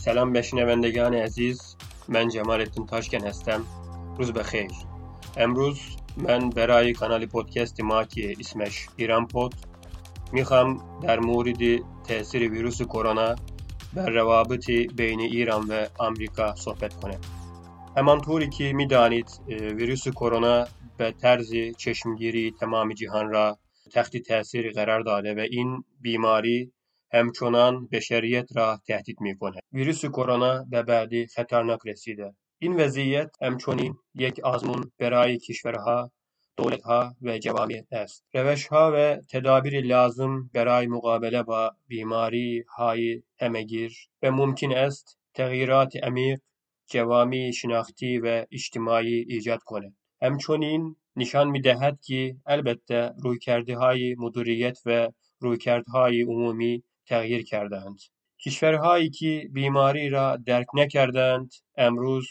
سلام به شنوندگان عزیز، من جمال‌الدین تاشکن هستم. روز بخیر. امروز من برای کانال پادکست ما که اسمش ایران پود میخوام در مورد تاثیر ویروس کرونا بر روابط بین ایران و آمریکا صحبت کنم. همانطوری که میدانید ویروس کرونا به طرز چشمگیری تمام جهان را تحت تاثیر قرار داده و این بیماری همچنان بشریت را تهدید می‌کند. ویروس کرونا به بعدی خطرناک رسیده. این وضعیت همچنین یک آزمون برای کشورها، دولت‌ها و جوامع است. روش‌ها و تدابیر لازم برای مقابله با بیماری‌های همه‌گیر و ممکن است تغییرات عمیق جوامع شناختی و اجتماعی ایجاد کند. همچنین نشان می‌دهد که البته رویکردهای مدیریت و رویکردهای عمومی تغییر کردند. کشورهایی که بیماری را درک نکردند امروز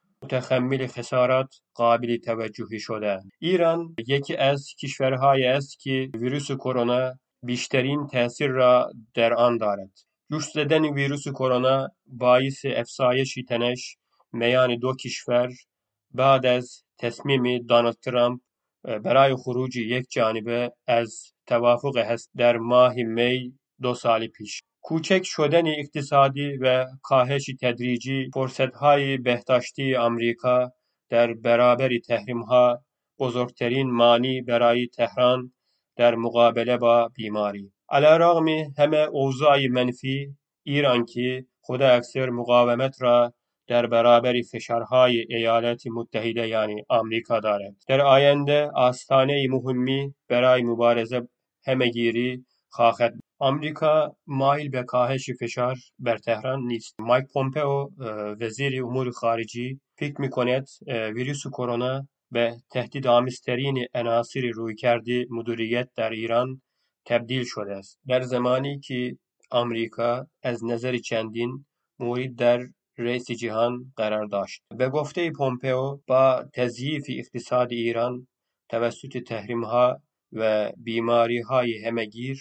متحمل خسارات قابل توجهی شدند. ایران یکی از کشورهایی است که ویروس کرونا بیشترین تاثیر را در آن دارد. جوش زدن ویروس کرونا باعث افزایش تنش میان دو کشور بعد از تصمیم دونالد ترامپ برای خروج یک جانبه از توافق هست در ماه می 2 سال پیش. کوچک شدن اقتصادی و کاهش تدریجی فرصت‌های بهداشتی آمریکا در برابر تحریم‌ها بزرگترین مانع برای تهران در مقابله با بیماری. علیرغم همه اوضاع منفی، ایران که خود اکثر مقاومت را در برابر فشارهای ایالات متحده یعنی آمریکا دارد. در آینده آستانه مهمی برای مبارزه همه‌گیری خواهد. آمریکا مایل به کاهش فشار بر تهران نیست. مایک پومپئو وزیر امور خارجه فکر می‌کند ویروس کرونا به تهدیدآمیزترین عناصر رویکرد مدیریت در ایران تبدیل شده است. در زمانی که آمریکا از نظر چندین مورد در رئیس جهان قرار داشت. به گفته پومپئو با تضعیف اقتصاد ایران توسط تحریم‌ها و بیماری‌های همه‌گیر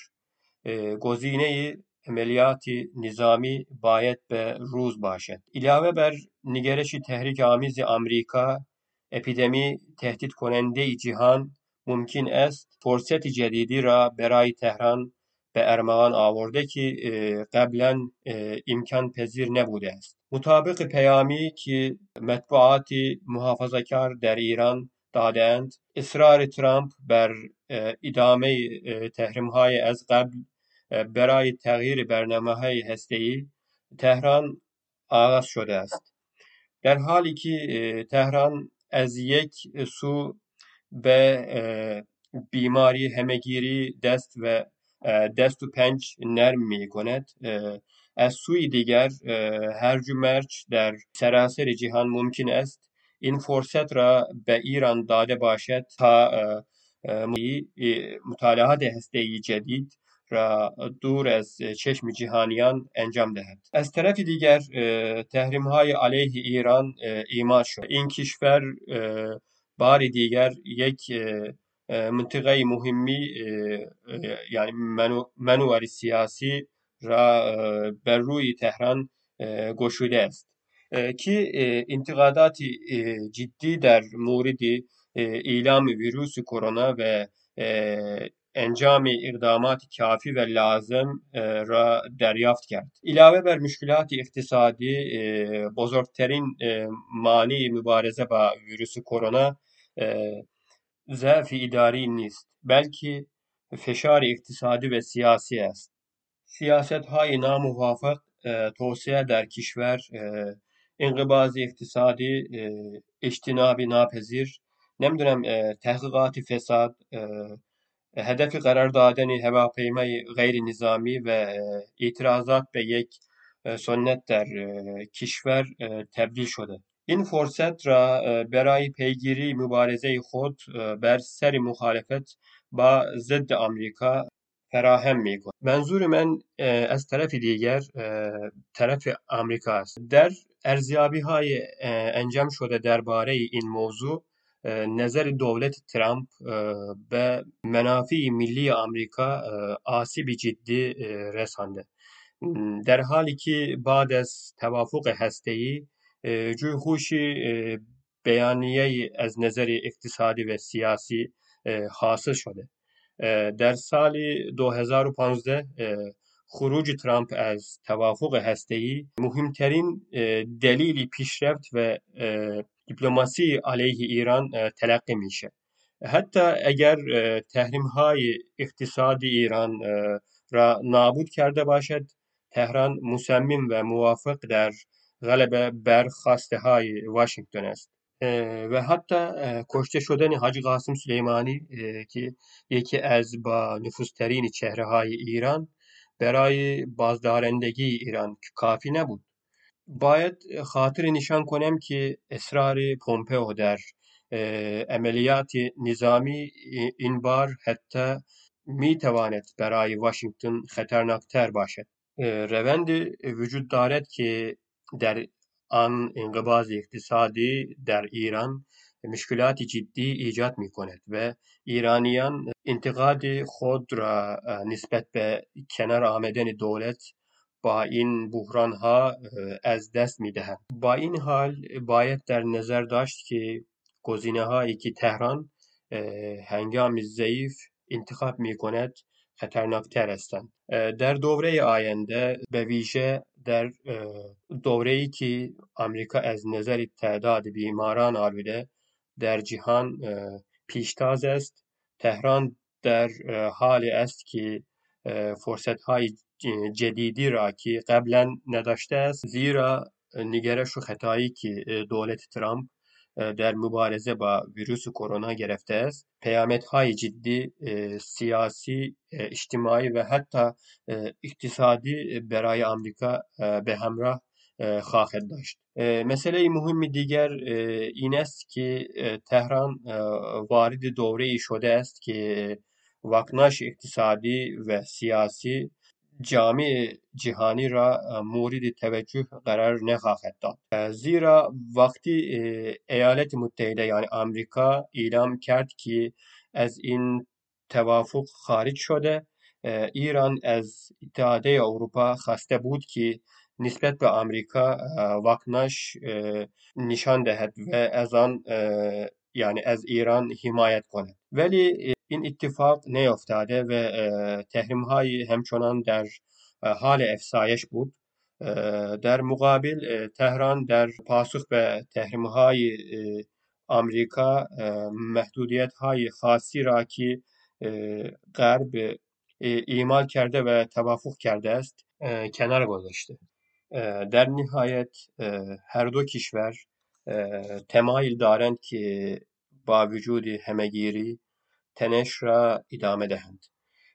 گزینه عملیات نظامی باید به روز باشد. علاوه بر نگرش تحریک آمیز آمریکا، اپیدمی تهدید کننده جهان ممکن است فرصت جدیدی را برای تهران به ارمغان آورده که قبلا امکان پذیر نبوده است. مطابق پیامی که مطبوعات محافظه‌کار در ایران دادند، اصرار ترامپ بر ادامه تحریم‌های از قبل برای تغییر برنامه‌های هسته‌ای تهران آغاز شده است. در حالی که تهران از یک سو به بیماری همه‌گیری دست و پنج نرم می کند، از سوی دیگر هرج و مرج در سراسر جهان ممکن است این فرصت را به ایران داده باشد تا مطالعات هسته‌ای جدید را دور از چشم جهانیان انجام دهد. از طرف دیگر تحریم‌های علیه ایران اعمال شد. این کشور بار دیگر یک منطقه مهمی یعنی منور سیاسی را بر روی تهران گشوده است که انتقادات جدی در مورد اعلام ویروس کرونا و انجام اقدامات کافی و لازم را دریافت کرد. علاوه بر مشکلات اقتصادی، بزرگترین مانع مبارزه با ویروس کرونا ضعف اداری نیست، بلکه فشار اقتصادی و سیاسی است. سیاست‌های ناموافق، توسعه در کشور، انقباض اقتصادی، اجتناب ناپذیر، تحقیقات فساد، هدف قرار دادن هواپیمای غیر نظامی و اعتراضات به یک سنت در کشور تبدیل شده. این فرصت را برای پیگیری مبارزه خود بر سر مخالفت با ضد آمریکا فراهم می‌کند. منظور من از طرف دیگر طرف آمریکا است. در ارزیابی‌های انجام شده درباره این موضوع نظر دولت ترامپ به منافع ملی آمریکا آسیب جدی رسانده. در حالی که بعد از توافق هسته‌ای جوی بیانیه از نظر اقتصادی و سیاسی حاصل شده. در سال 2015 خروج ترامپ از توافق هسته‌ای مهمترین دلیل پیشرفت و دیپلماسی علیه ایران تلقی میشه. حتی اگر تحریم‌های اقتصادی ایران را نابود کرده باشد، تهران مصمم و موافق در غلبه بر خواسته‌های واشنگتن است. و حتی کشته شدن حاجی قاسم سلیمانی که یکی از با نفوذترین چهره‌های ایران برای بازدارندگی ایران کافی نبود. باید خاطر نشان کنم که اصرار پومپئو در عملیات نظامی این بار حتی میتواند برای واشنگتن خطرناکتر باشد. روند وجود دارد که در آن انقباض اقتصادی در ایران مشکلات جدی ایجاد می کند و ایرانیان انتقاد خود را نسبت به کنار آمدن دولت با این بحران ها از دست می دهند. با این حال باید در نظر داشت که گزینه هایی که تهران هنگام ضعیف انتخاب می کند خطرناکتر هستند. در دوره آینده به ویژه در دوره‌ای که آمریکا از نظر تعداد بیماران آلوده در جهان پیشتاز است، تهران در حالی است که فرصت‌های جدیدی را که قبلا نداشته است، زیرا نگرش و خطایی که دولت ترامپ در مبارزه با ویروس کرونا گرفته است، پیامدهای جدی سیاسی، اجتماعی و حتی اقتصادی برای آمریکا به همراه خواهد داشت. مسئله مهم دیگر این است که تهران وارد دوره‌ای شده است که واکنش اقتصادی و سیاسی جامعه جهانی را مورد توجه قرار نخواهد داد، زیرا وقتی ایالات متحده یعنی آمریکا اعلام کرد که از این توافق خارج شده، ایران از اتحادیه اروپا خواسته بود که نسبت به آمریکا واکنش نشان دهد و از آن یعنی از ایران حمایت کند، ولی این اتفاق نیفتاده و تحریم‌های همچنان در حال افزایش بود. در مقابل تهران در پاسخ به تحریم‌های آمریکا محدودیت‌های خاصی را که غرب اعمال کرده و توافق کرده است کنار گذاشته. در نهایت هر دو کشور تمایل دارند که با وجود همه‌گیری تنش را ادامه دهند.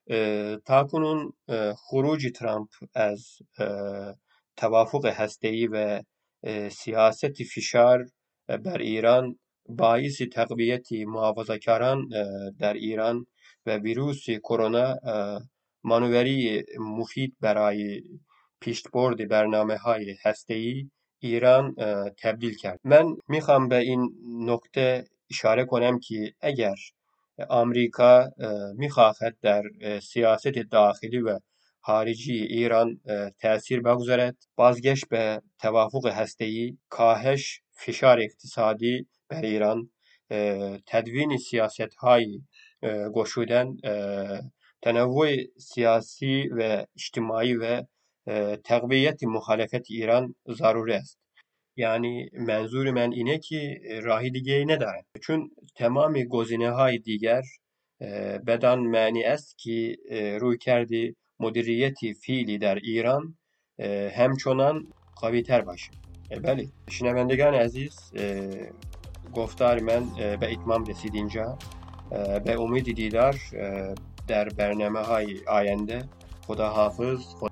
تاکنون خروج ترامپ از توافق هسته‌ای و سیاست فشار بر ایران باعث تقویت محافظه‌کاران در ایران و ویروس کرونا مانوری مفید برای پیشبرد برنامه‌های هسته‌ای ایران تبدیل کرد. من میخوام به این نکته اشاره کنم که اگر آمریکا میخواهد در سیاست داخلی و خارجی ایران تأثیر بگذارد، بازگشت به توافق هسته‌ای، کاهش فشار اقتصادی بر ایران، تدوین سیاست‌های گشودن، تنوع سیاسی و اجتماعی و تقویت مخالفت ایران ضروری است. یعنی منظور من اینه که راهی دیگه نداره، چون تمام گزینه‌های دیگر بدان معنی است که روی کرده مدیریت فعلی در ایران همچنان قوی تر باشه. بله شنوندگان عزیز، گفتار من به اتمام رسید اینجا. به امید دیدار در برنامه‌های آینده. خدا حافظ.